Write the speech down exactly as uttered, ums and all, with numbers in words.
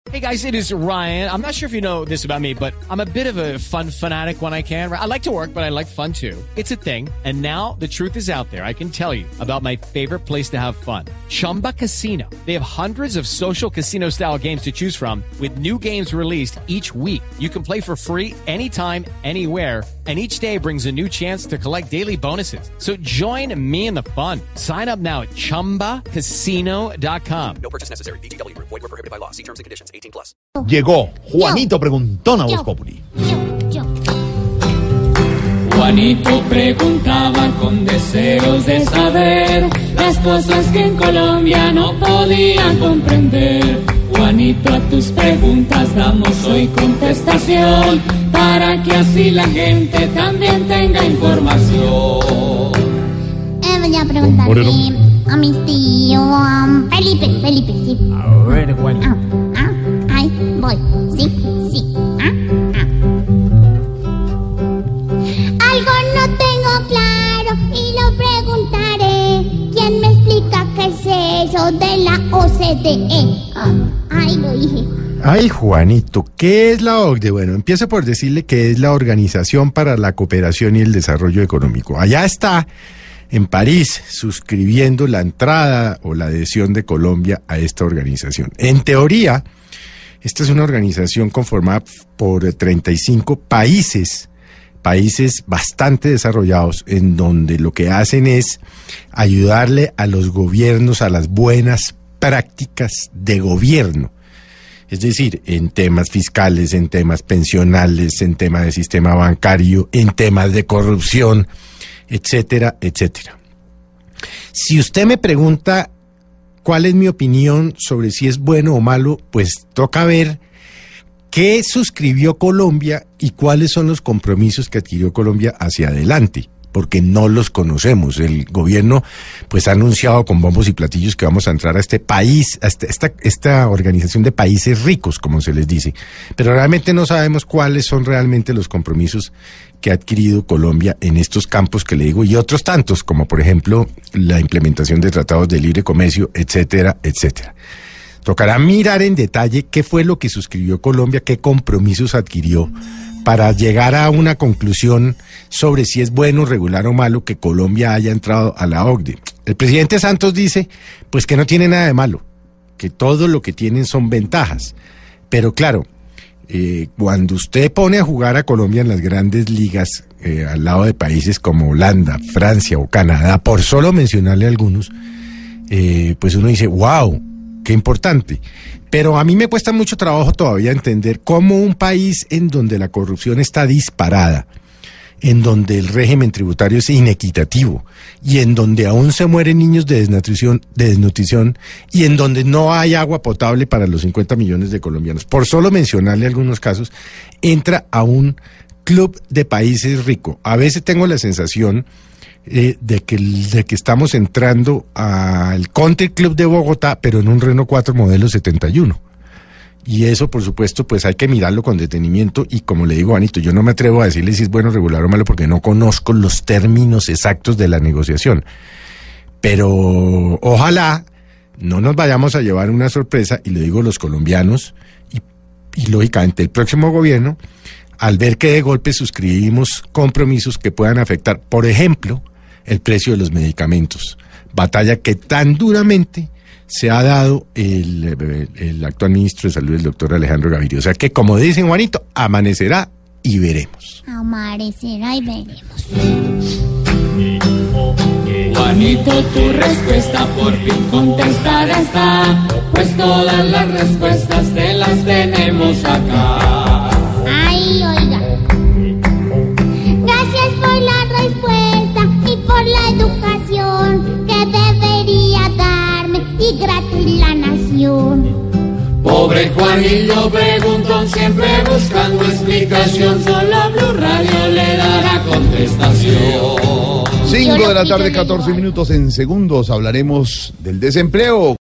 Hey guys, it is Ryan. I'm not sure if you know this about me, but I'm a bit of a fun fanatic when I can. I like to work, but I like fun too. It's a thing. And now the truth is out there. I can tell you about my favorite place to have fun. Chumba Casino. They have hundreds of social casino style games to choose from with new games released each week. You can play for free anytime, anywhere. And each day brings a new chance to collect daily bonuses. So join me in the fun. Sign up now at chumba casino dot com. No purchase necessary. V G W. Void were prohibited by law. See terms and conditions. eighteen plus. Llegó Juanito Preguntón a Voz Populi. Juanito preguntaba con deseos de saber las cosas que en Colombia no podían comprender. Juanito, a tus preguntas damos hoy contestación para que así la gente también tenga información. Eh, voy a preguntarle a mi tío um, Felipe, Felipe, sí. A ver, Juanito. Ah, ah, ahí voy, sí, sí. Ah, ah. Algo no tengo claro y lo preguntaré. ¿Quién me explica qué es eso de la O C D E? Ah, ahí lo dije. Ay, Juanito, ¿qué es la O C D E? Bueno, empiezo por decirle que es la Organización para la Cooperación y el Desarrollo Económico. Allá está, en París, suscribiendo la entrada o la adhesión de Colombia a esta organización. En teoría, esta es una organización conformada por treinta y cinco países, países bastante desarrollados, en donde lo que hacen es ayudarle a los gobiernos a las buenas prácticas de gobierno. Es decir, en temas fiscales, en temas pensionales, en temas de sistema bancario, en temas de corrupción, etcétera, etcétera. Si usted me pregunta cuál es mi opinión sobre si es bueno o malo, pues toca ver qué suscribió Colombia y cuáles son los compromisos que adquirió Colombia hacia adelante, porque no los conocemos. El gobierno pues ha anunciado con bombos y platillos que vamos a entrar a este país, a esta, esta, esta organización de países ricos, como se les dice, pero realmente no sabemos cuáles son realmente los compromisos que ha adquirido Colombia en estos campos que le digo y otros tantos, como por ejemplo la implementación de tratados de libre comercio, etcétera, etcétera. Tocará mirar en detalle qué fue lo que suscribió Colombia, qué compromisos adquirió, para llegar a una conclusión sobre si es bueno, regular o malo que Colombia haya entrado a la O C D E. El presidente Santos dice pues que no tiene nada de malo, que todo lo que tienen son ventajas, pero claro, eh, cuando usted pone a jugar a Colombia en las grandes ligas eh, al lado de países como Holanda, Francia o Canadá, por solo mencionarle algunos, eh, pues uno dice, wow, qué importante. Pero a mí me cuesta mucho trabajo todavía entender cómo un país en donde la corrupción está disparada, en donde el régimen tributario es inequitativo y en donde aún se mueren niños de desnutrición, de desnutrición y en donde no hay agua potable para los cincuenta millones de colombianos, por solo mencionarle algunos casos, entra a un club de países ricos. A veces tengo la sensación Eh, de, que, de que estamos entrando al Country Club de Bogotá, pero en un Renault cuatro modelo setenta y uno. Y eso, por supuesto, pues hay que mirarlo con detenimiento y como le digo, Anito, yo no me atrevo a decirle si es bueno, regular o malo porque no conozco los términos exactos de la negociación. Pero ojalá no nos vayamos a llevar una sorpresa, y le digo los colombianos, y, y lógicamente el próximo gobierno, al ver que de golpe suscribimos compromisos que puedan afectar, por ejemplo, el precio de los medicamentos, batalla que tan duramente se ha dado el, el, el actual ministro de Salud, el doctor Alejandro Gaviria. O sea que, como dicen, Juanito, amanecerá y veremos. Amanecerá y veremos. Juanito, tu respuesta por fin contestada está, pues todas las respuestas te las tenemos acá. Ay, oiga. Gracias por la respuesta y por la educación que debería darme y gratis la nación. Pobre Juanillo preguntón, siempre buscando explicación, solo Blue Radio le dará contestación. cinco de la tarde, catorce minutos. En segundos hablaremos del desempleo.